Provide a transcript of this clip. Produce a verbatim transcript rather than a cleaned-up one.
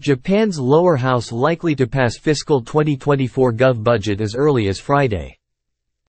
Japan's lower house likely to pass fiscal twenty twenty-four gov budget as early as Friday.